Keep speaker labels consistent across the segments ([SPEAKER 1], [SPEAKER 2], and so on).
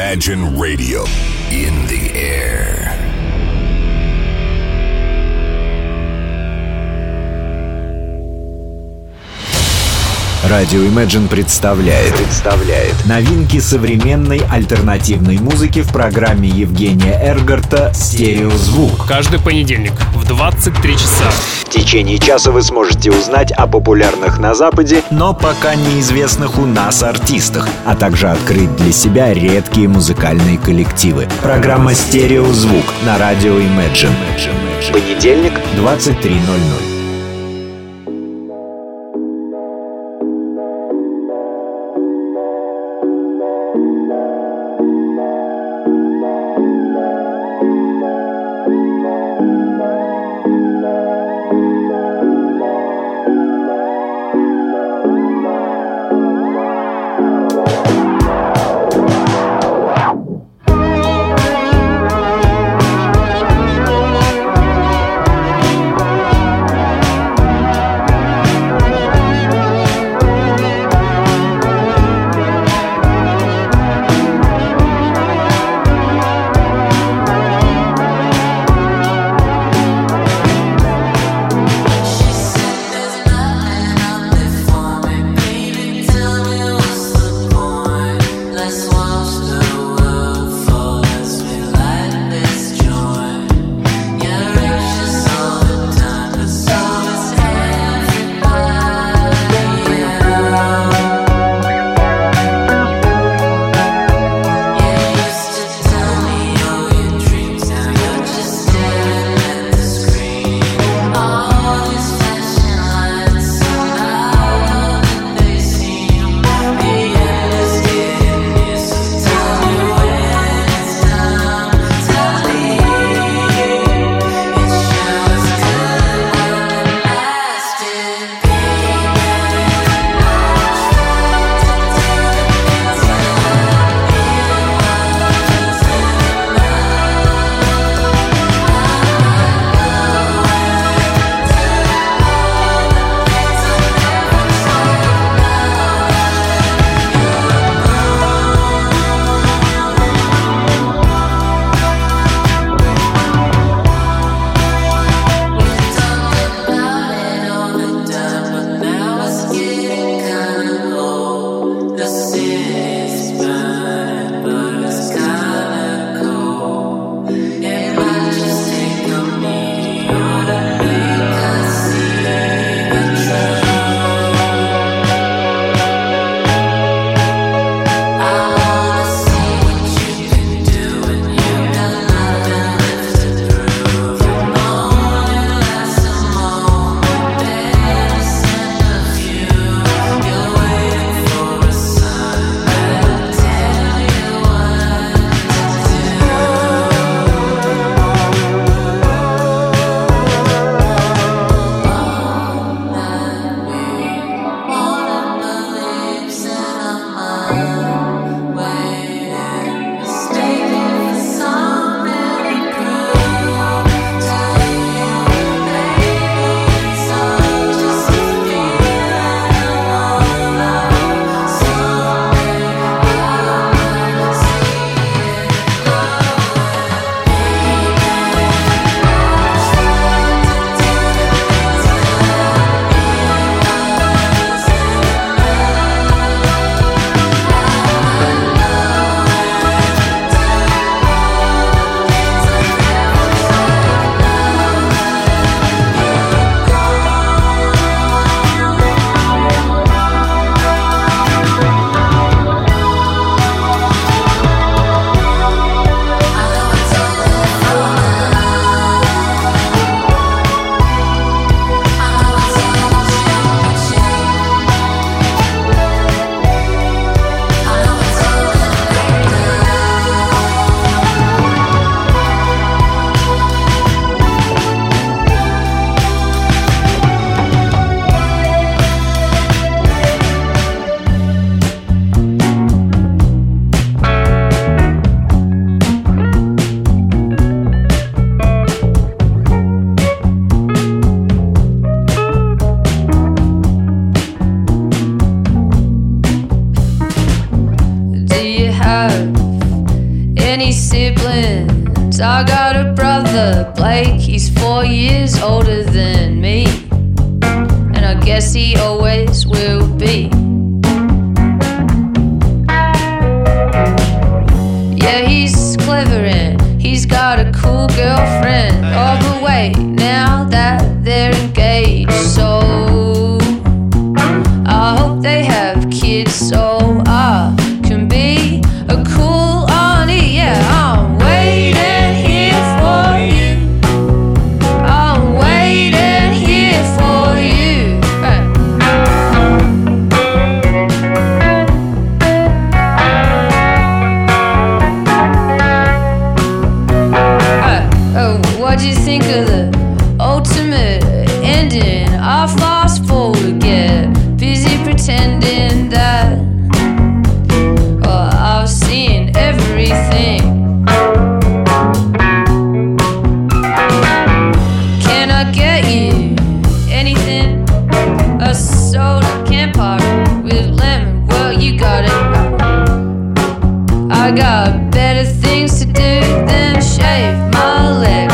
[SPEAKER 1] Imagine Radio in the air.
[SPEAKER 2] Радио Imagine представляет новинки современной альтернативной музыки в программе Евгения Эргарта «Стереозвук».
[SPEAKER 3] Каждый понедельник в 23 часа.
[SPEAKER 2] В течение часа вы сможете узнать о популярных на Западе, но пока неизвестных у нас артистах, а также открыть для себя редкие музыкальные коллективы. Программа «Стереозвук» на радио Imagine. Понедельник, 23:00.
[SPEAKER 4] 'Cause I got a brother, Blake, he's 4 years older than me, and I guess he always will be. Yeah, he's clever and he's got a cool girlfriend. Oh, but wait, now that they're engaged, so I hope they have kids so I can be a cool auntie. Yeah, I'm waiting here for you. I'm waiting here for you. What'd you think of the ultimate ending? I fast forward, get busy pretending that I've seen everything. Can I get you anything? A soda, can party with lemon. Well, you got it. I got better things to do than shave my legs.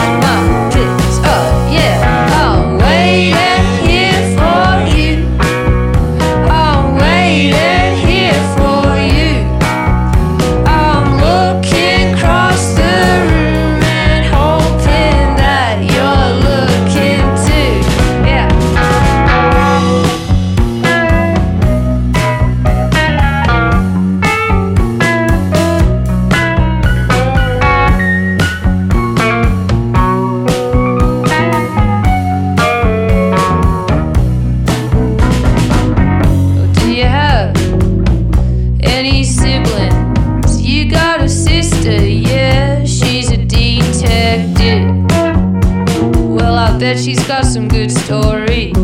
[SPEAKER 4] Bet she's got some good stories.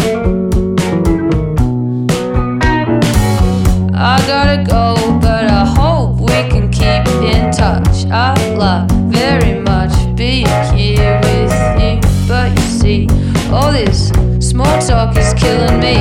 [SPEAKER 4] I gotta go, but I hope we can keep in touch. I'd like very much be here with you, but you see, all this small talk is killing me.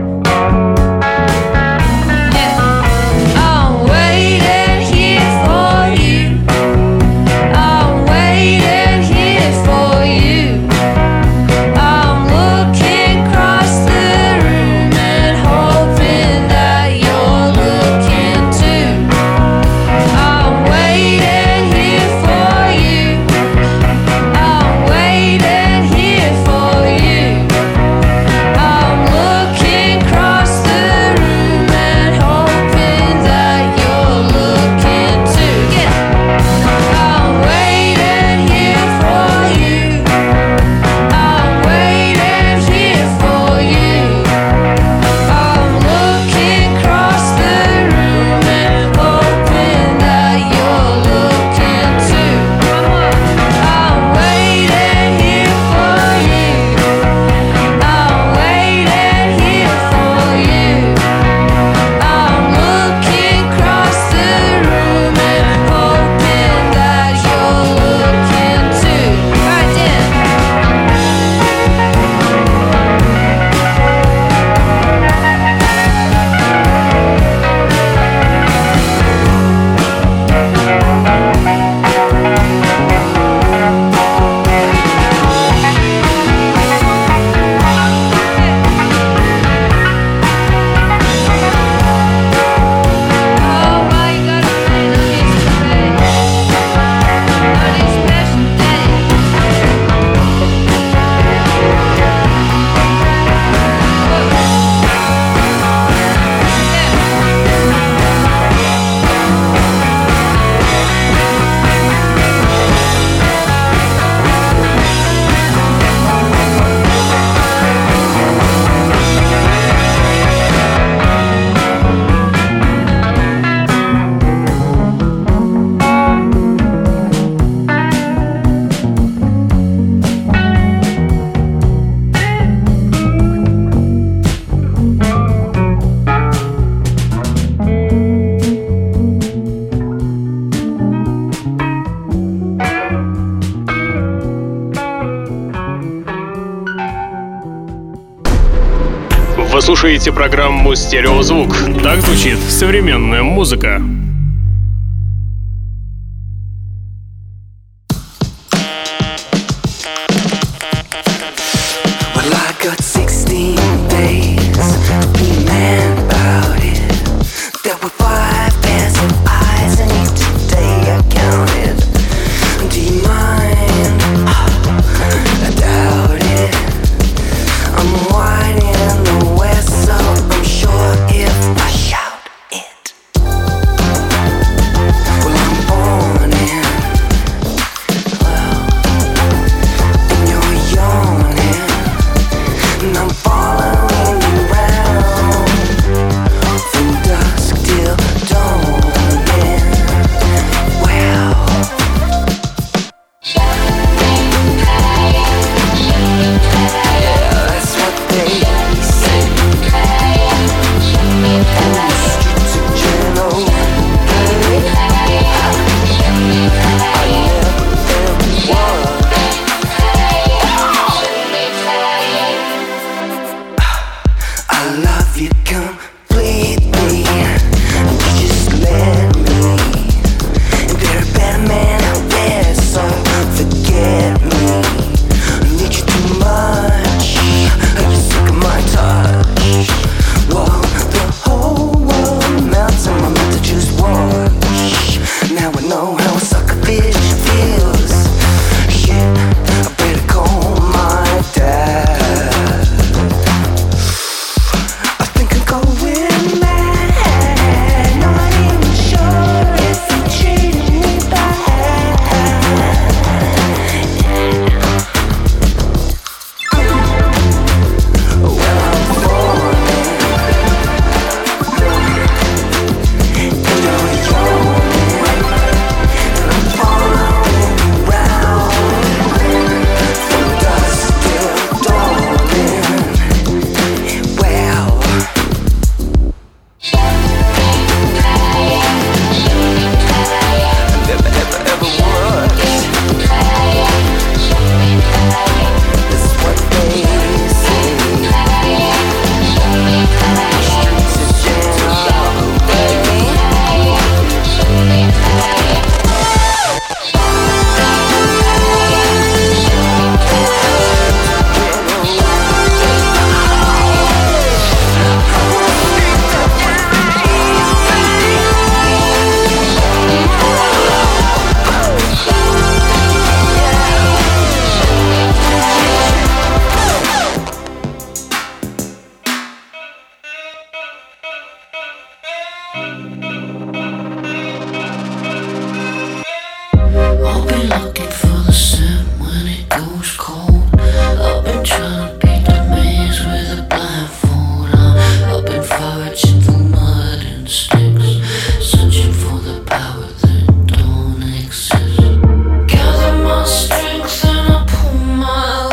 [SPEAKER 3] Вы слушаете программу «Стереозвук». Так звучит современная музыка.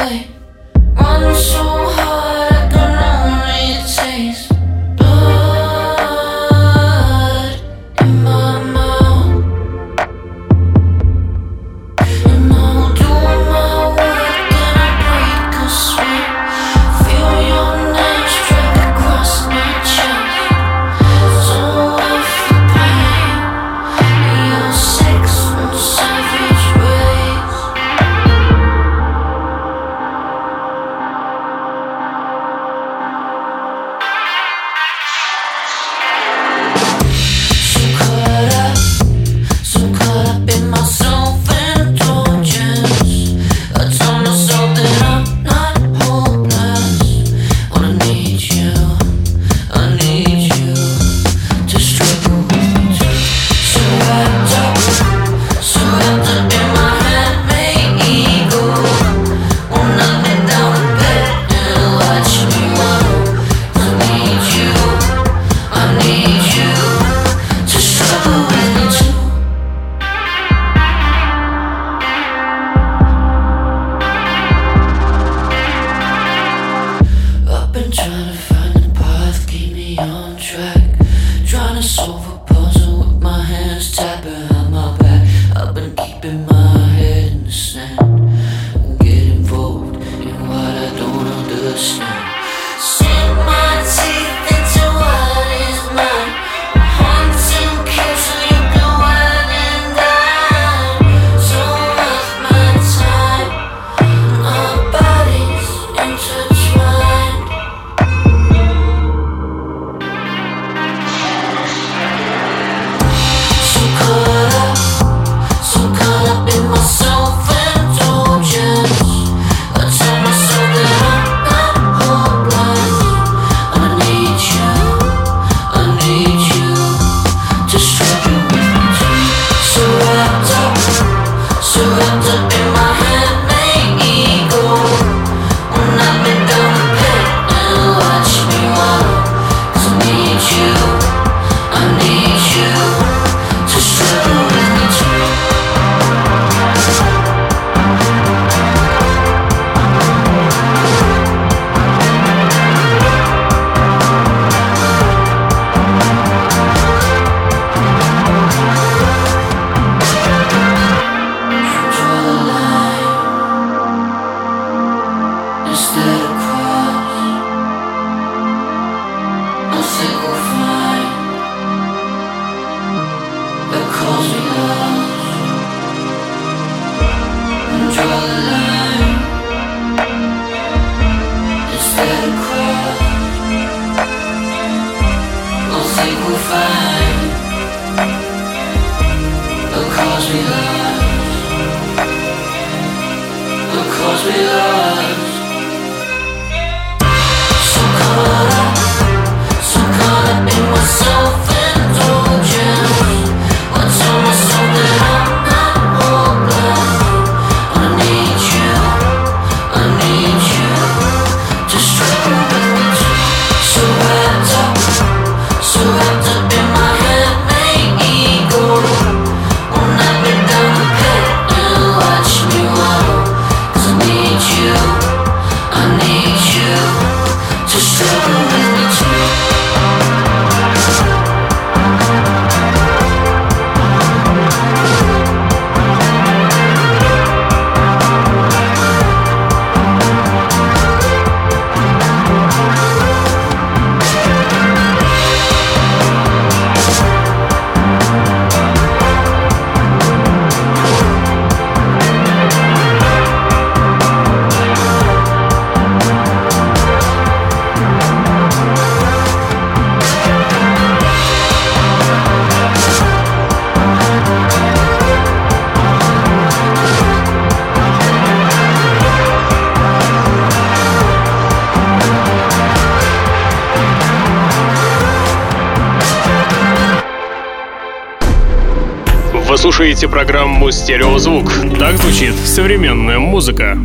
[SPEAKER 3] Вы слушаете программу «Стереозвук». Так звучит современная музыка.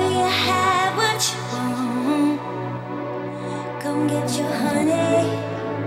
[SPEAKER 5] Get your honey,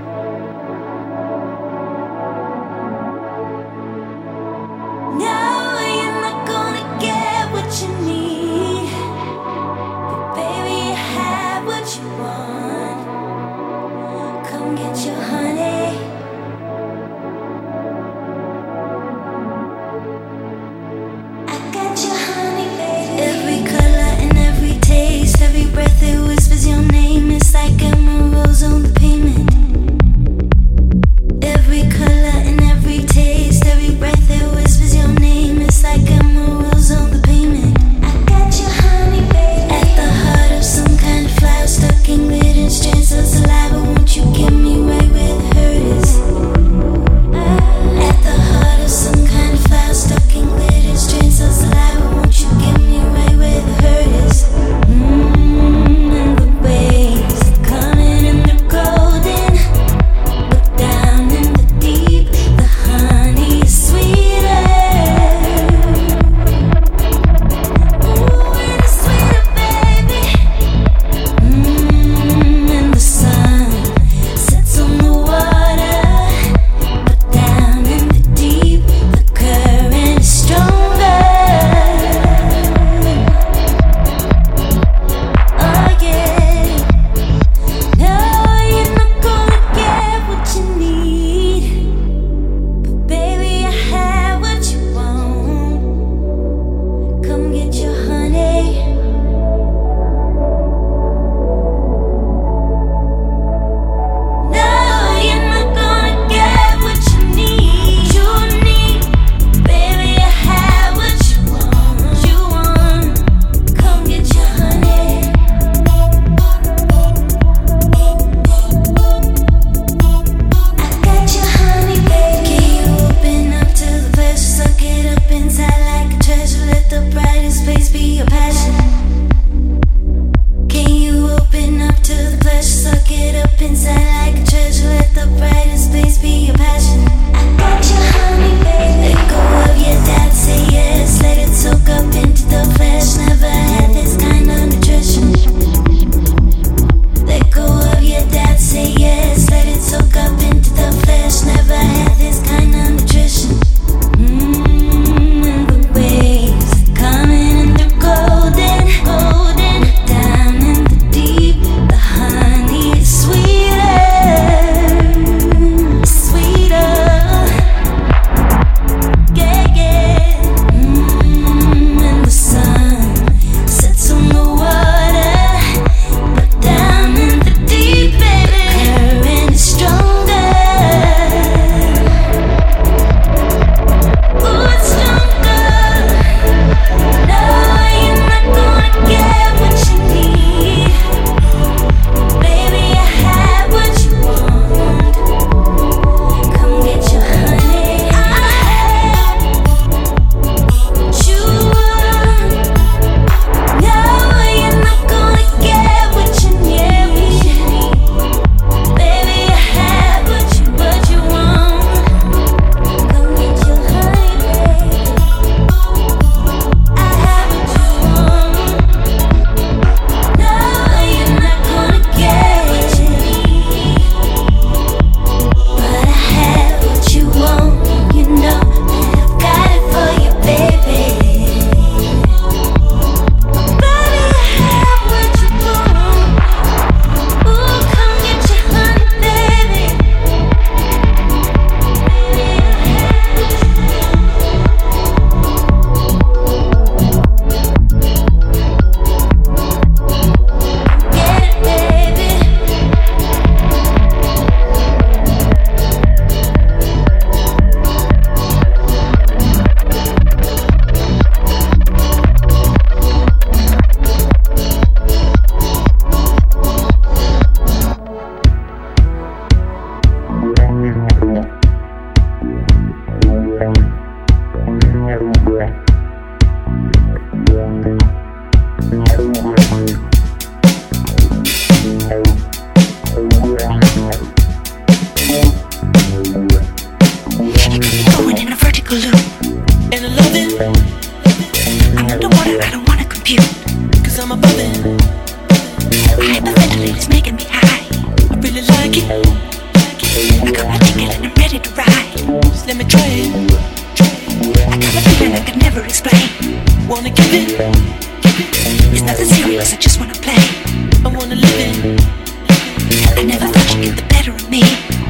[SPEAKER 5] I never thought you'd get the better of me.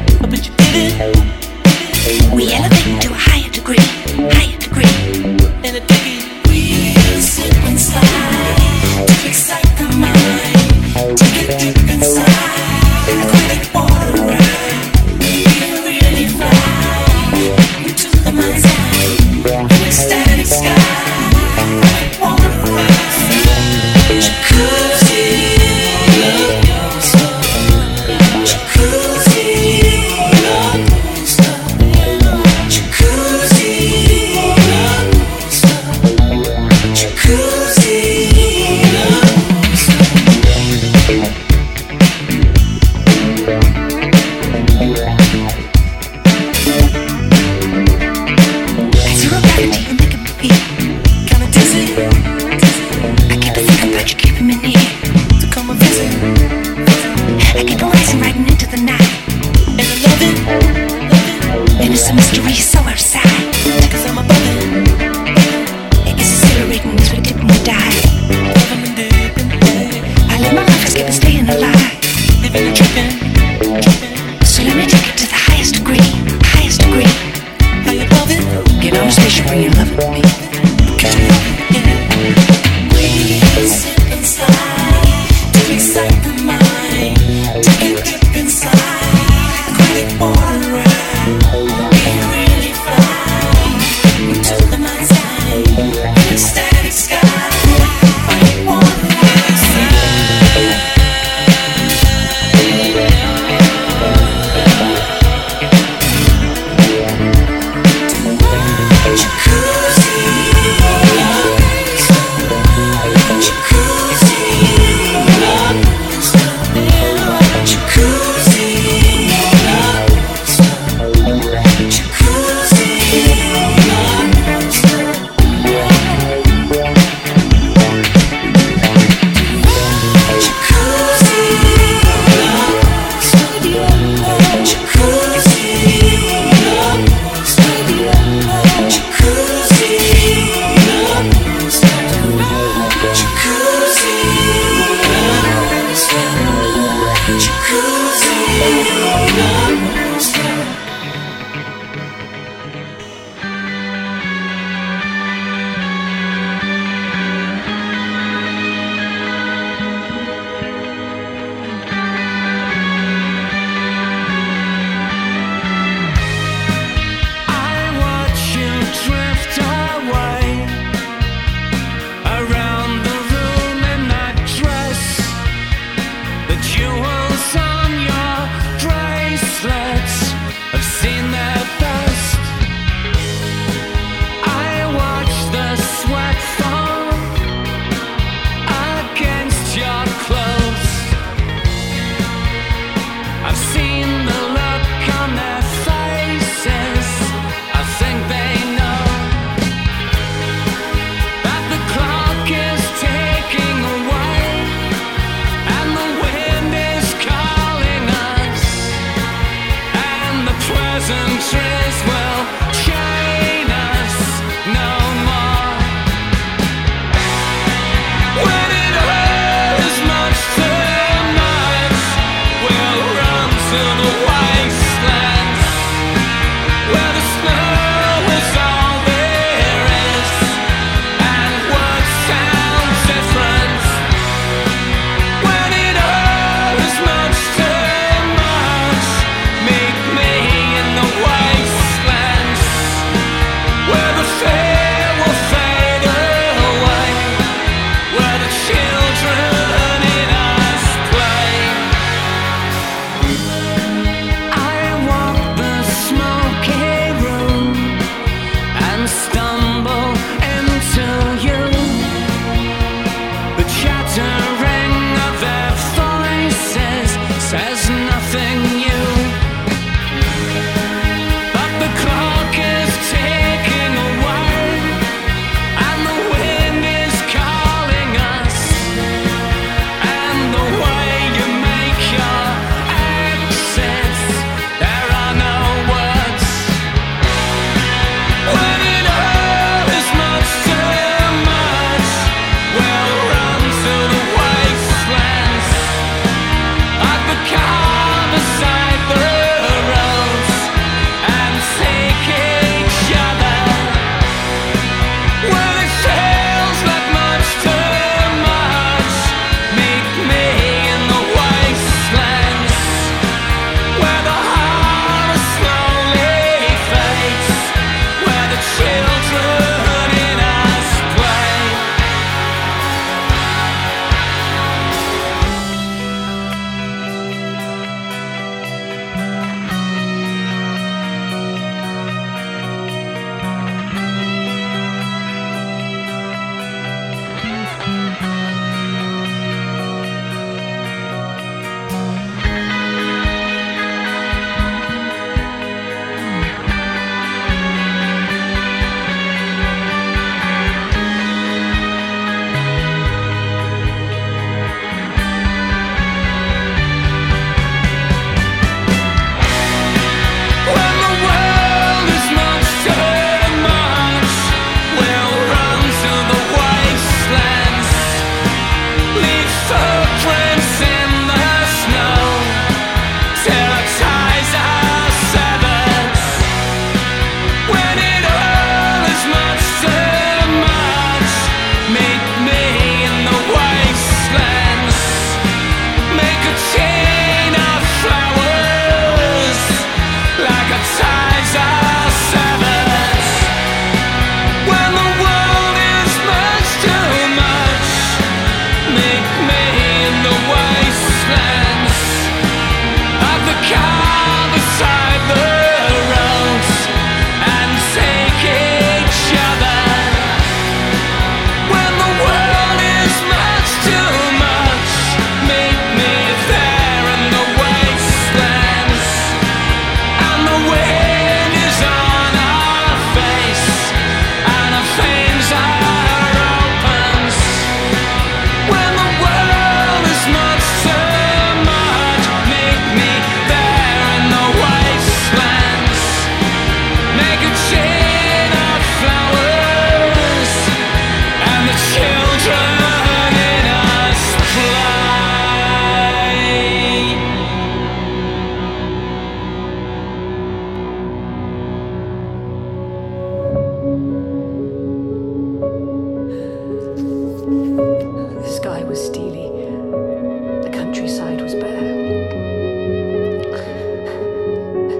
[SPEAKER 5] Wastelands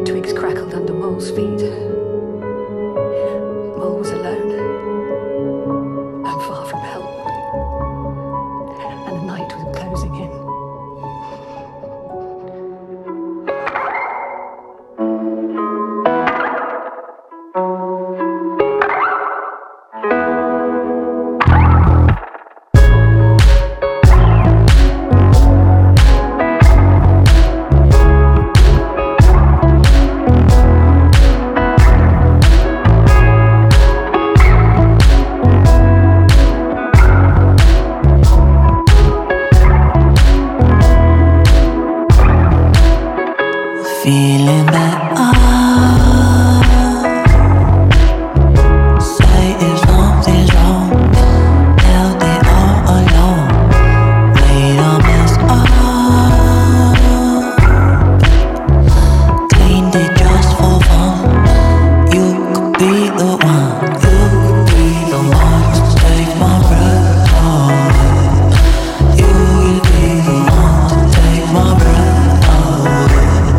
[SPEAKER 5] Twigs crackled under Mole's feet. Mole was alone and far from help, and the night was closing in.
[SPEAKER 6] Feeling better. Say if something's wrong, held it all alone, made a mess up, cleaned it just for fun. You could be the one, you could be the one to take my breath away. You could be the one to take my breath away.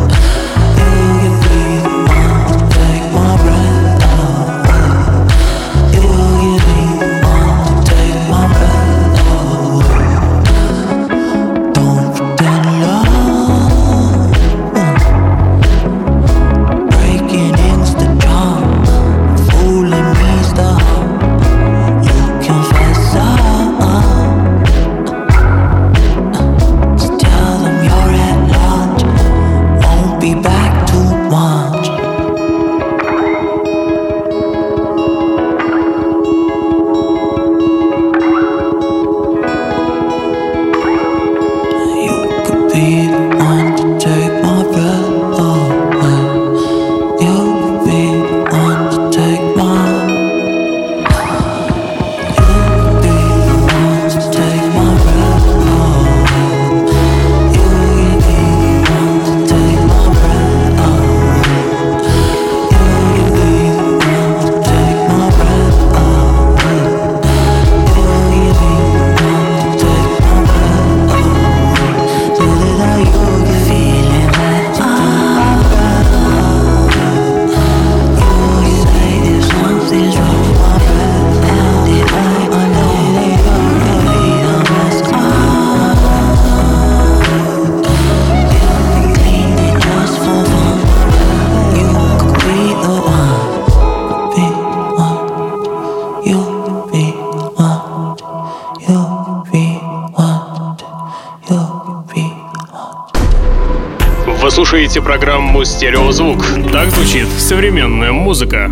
[SPEAKER 3] Вы слушаете программу «Стереозвук». Так звучит современная музыка.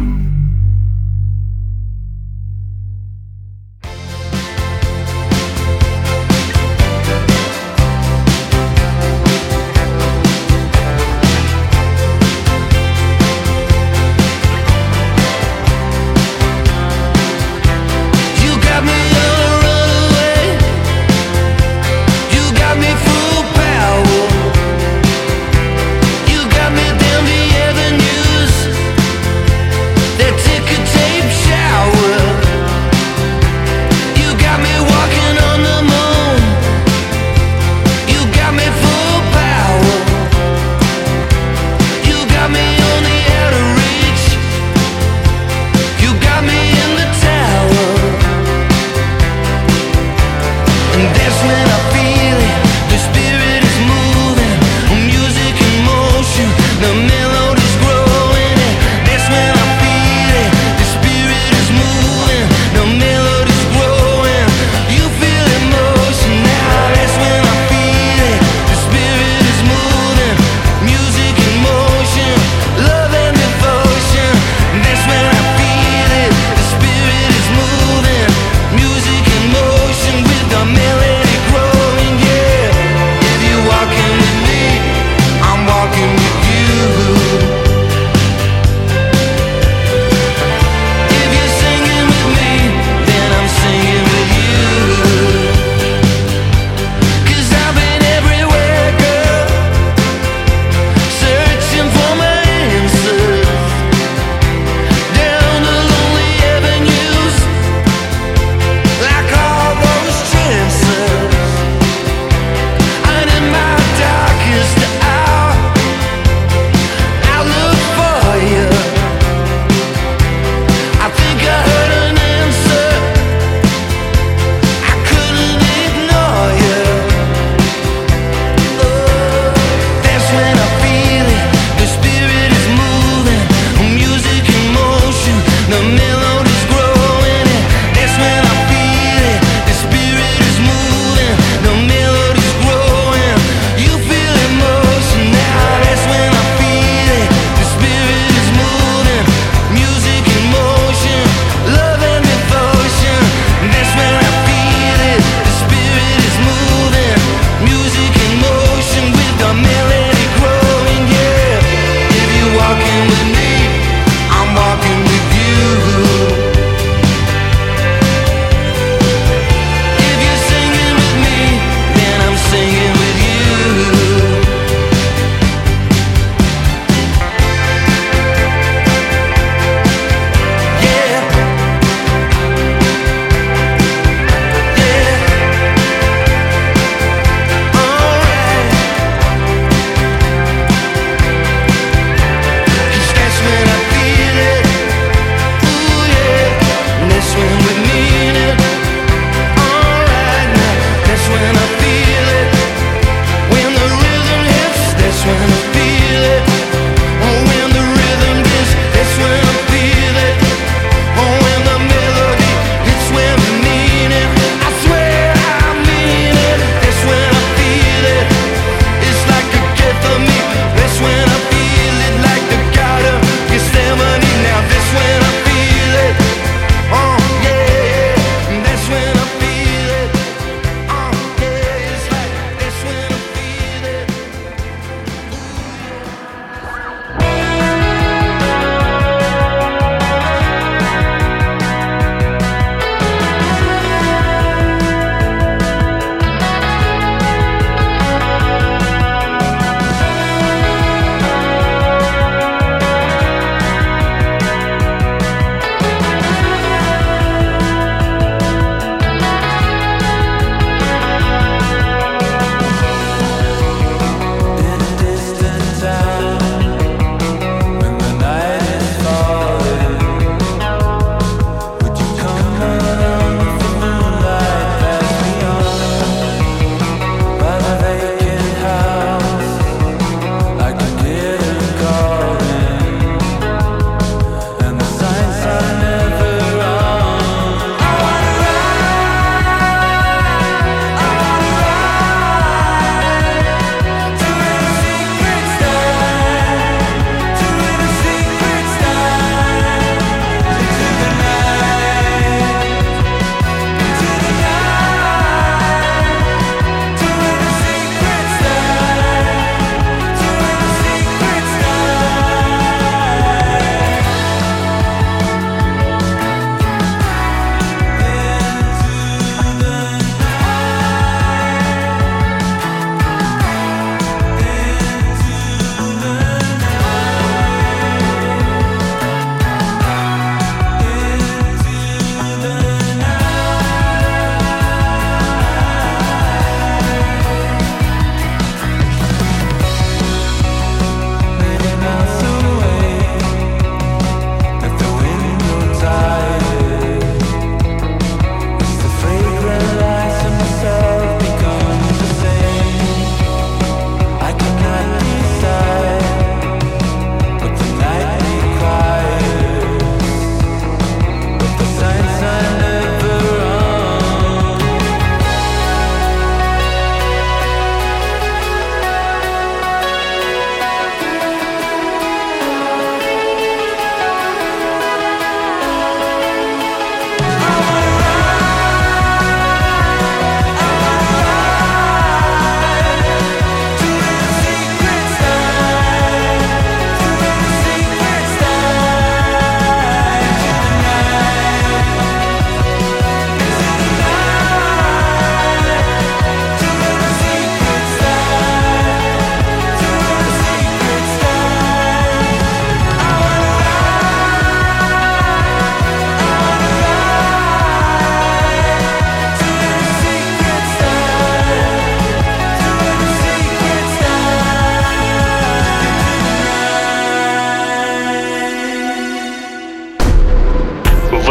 [SPEAKER 6] There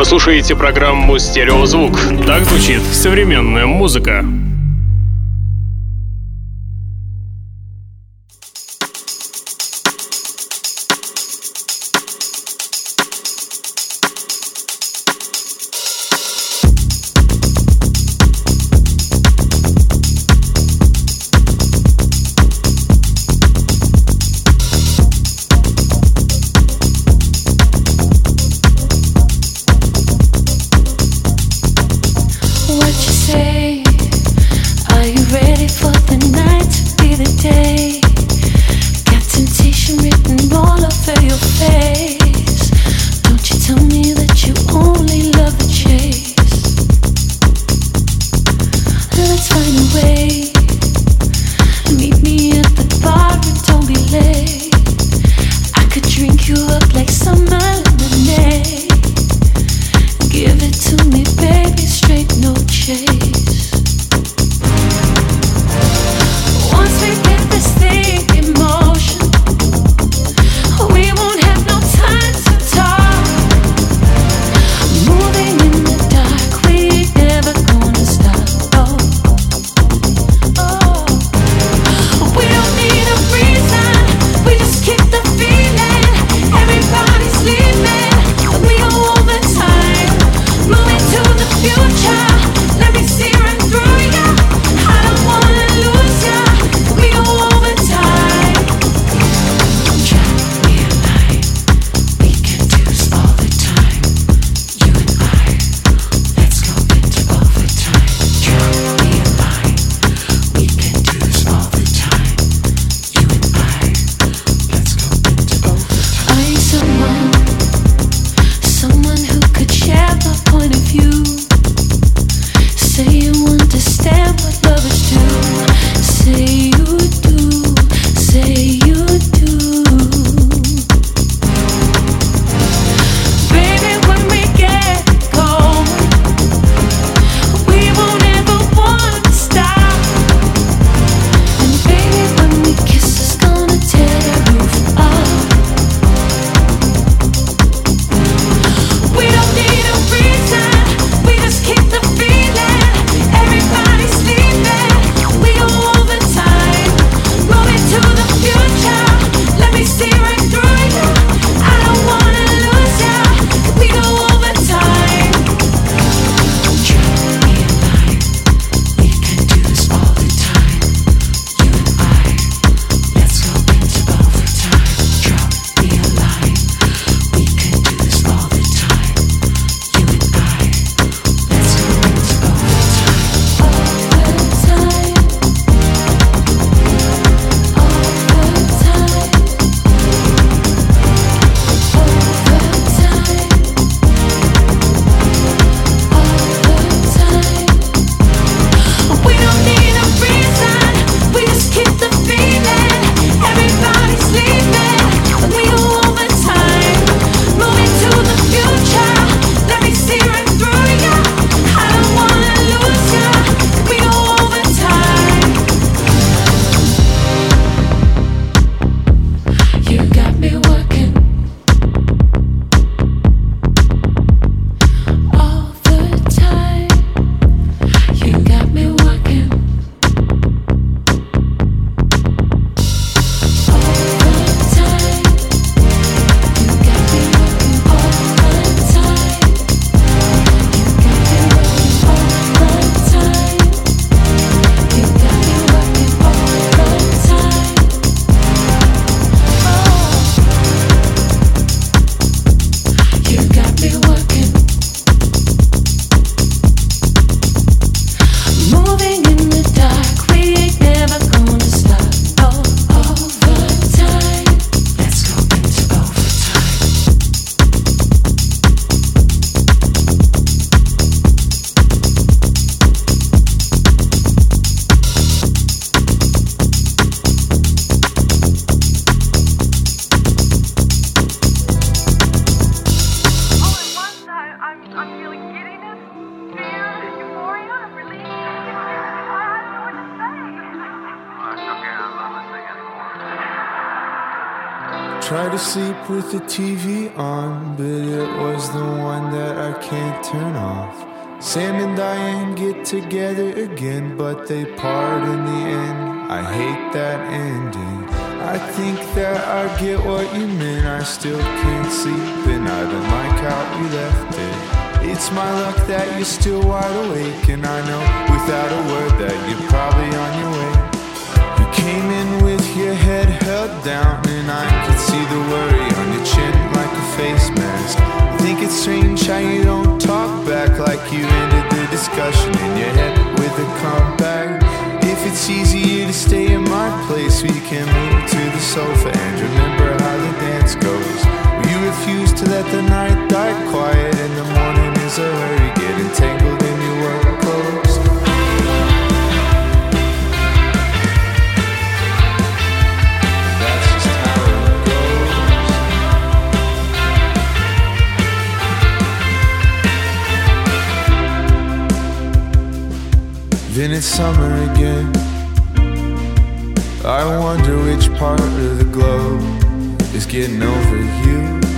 [SPEAKER 3] Вы слушаете программу «Стереозвук». Так звучит современная музыка.
[SPEAKER 7] Every to sleep with the TV on, but it was the one that I can't turn off. Sam and Diane get together again, but they part in the end. I hate that ending. I think that I get what you meant. I still can't sleep and I don't like how you left it. It's my luck that you're still wide awake, and I know without a word that you're probably on your way. You came in with your head held down, and I could see the worry on your chin like a face mask. I think it's strange how you don't talk back, like you ended the discussion in your head with a comeback. If it's easier to stay in my place, we can move to the sofa and remember how the dance goes. You refuse to let the night die quiet, in the morning is a hurry, get entangled in your work clothes. That's just how it goes. Then it's summer again. I wonder which part of the globe is getting over you.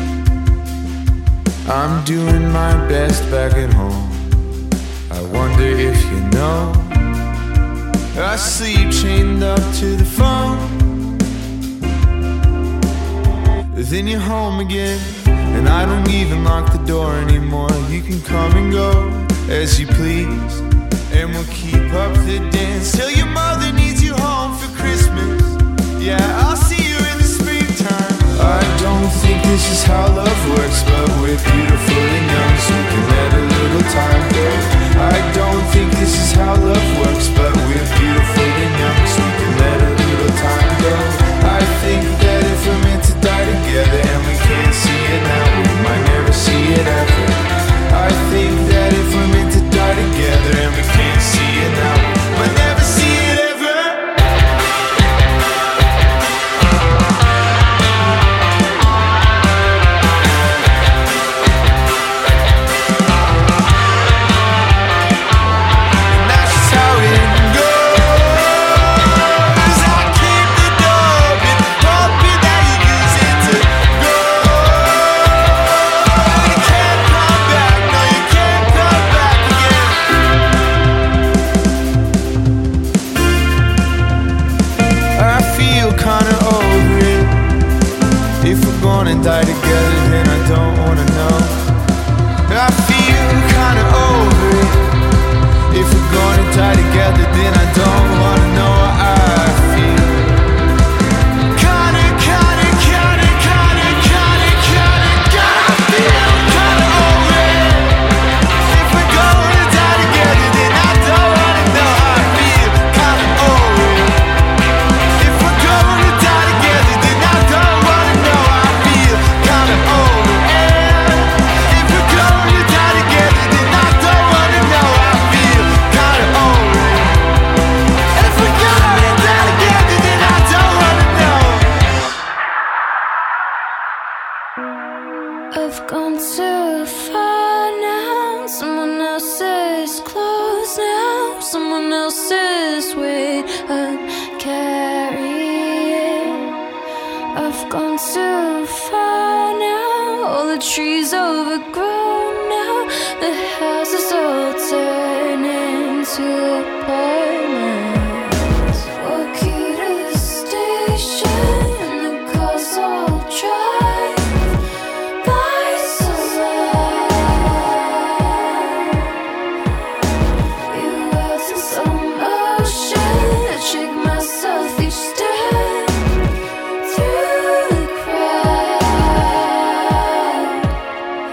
[SPEAKER 7] I'm doing my best back at home. I wonder if you know. I sleep chained up to the phone. Then you're home again, and I don't even lock the door anymore. You can come and go as you please, and we'll keep up the dance till your mother needs you home for Christmas. Yeah, I'll see you in the springtime. I don't think this is how love works, but we're beautiful and young, so we can let a little time go. I don't think this is how love works, but we're beautiful and young, so we can let a little time go. I think that if we're meant to die together and we can't see it now, we might never see it ever. I think that if we're meant to die together and we can't see it now, we might never see it ever. Die together, then I don't wanna know. I feel kinda over it. If we're gonna die together, then I don't wanna know how I feel. Kinda feel kinda over it. If we're gonna die together, then I don't wanna know how I feel. Kinda over it. If we're gonna die together, then I don't wanna know how I feel. Kinda over it. If we're gonna die together, then I don't wanna know how I feel. Kinda over it. If we're gonna die together, then I don't wanna know.
[SPEAKER 4] I've gone too far now. Someone else's clothes now. Someone else's weight I'm carrying. I've gone too far now. All the trees overgrown now. The houses all turn into apartments. Walk you to the station and the cars all drive by so loud. You words in some motion. I trick myself each step through the crowd.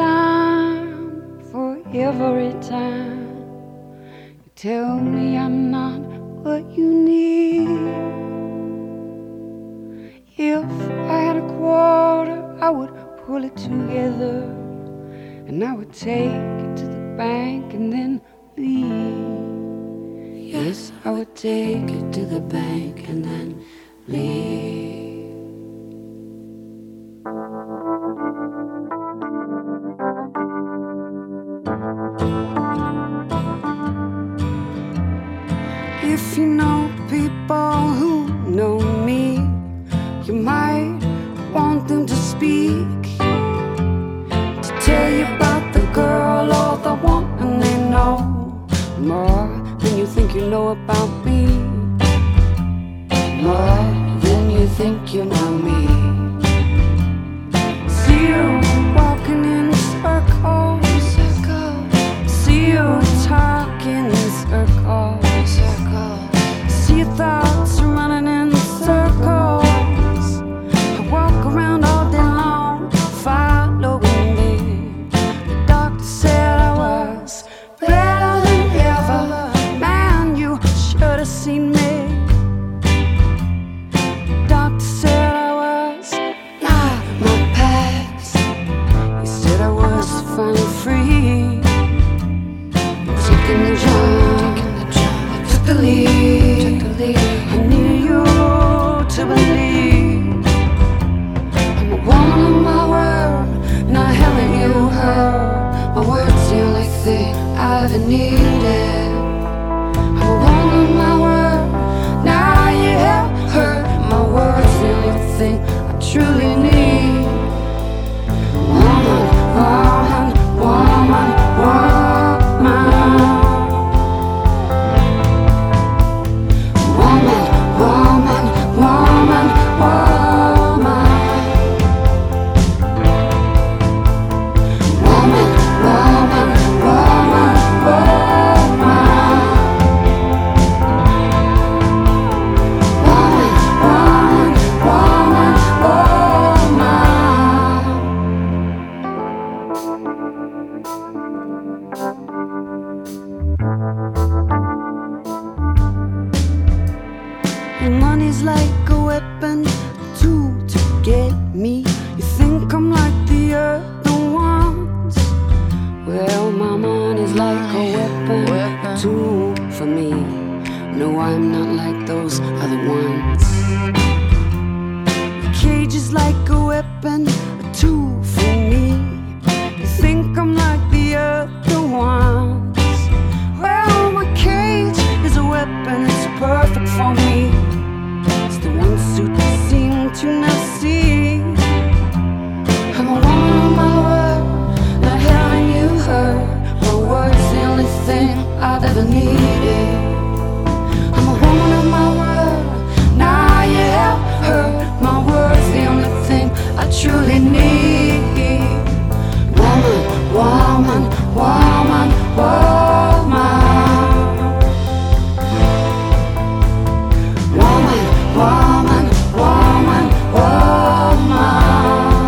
[SPEAKER 8] time for every time you tell me I'm not what you need. If I had a quarter, I would pull it together and I would take it to the bank and then leave. Yes, I would take it to the bank and then leave. If you know people who know me, you might want them to speak, to tell you about the girl or the woman they know more than you think you know about me, more than you think you know me. See you walking in circles, see you talking in circles, see your thoughts running in circles. I walk around all day long, following me. The doctor said I was better than ever. Man, you should have seen me. The doctor said I was not my past. He said I was finally free. Taking the job, I took the lead. I need you to believe I'm a woman of my word, not having you heard. My word's the only thing I ever needed. I'm a woman of my word, now you have heard. My word's the only thing I truly need. Woman, woman, woman, woman. Money's like a weapon, a tool to get me. You think I'm like the other ones? Well, my money's like a weapon, a tool for me. No, I'm not like those other ones. The cage is like a weapon, a tool for me. You think I'm like the other ones? Well, my cage is a weapon, it's perfect for me. It's the one suit you seem to not see. I'm a woman of my word, not having you heard. My word's the only thing I've ever needed. I'm a woman of my word, now you have heard. My word's the only thing I truly need. Woman, woman, woman, woman. Woman, woman, woman, woman.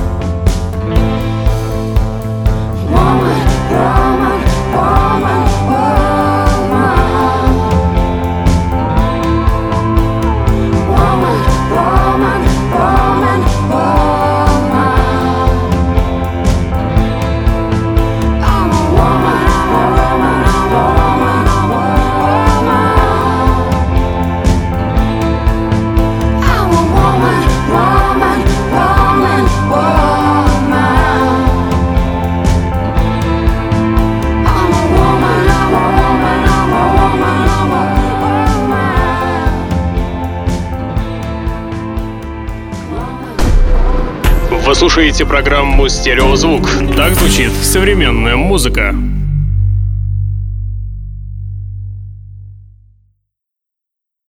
[SPEAKER 8] Woman, woman, woman, woman. Woman, woman, woman, woman. I'm a woman, I'm a woman, I'm a woman, I'm a woman. I'm a woman, woman, woman, woman. I'm a woman, I'm a woman, I'm a woman, I'm a woman.
[SPEAKER 3] Вы слушаете программу «Стереозвук». Так звучит современная музыка.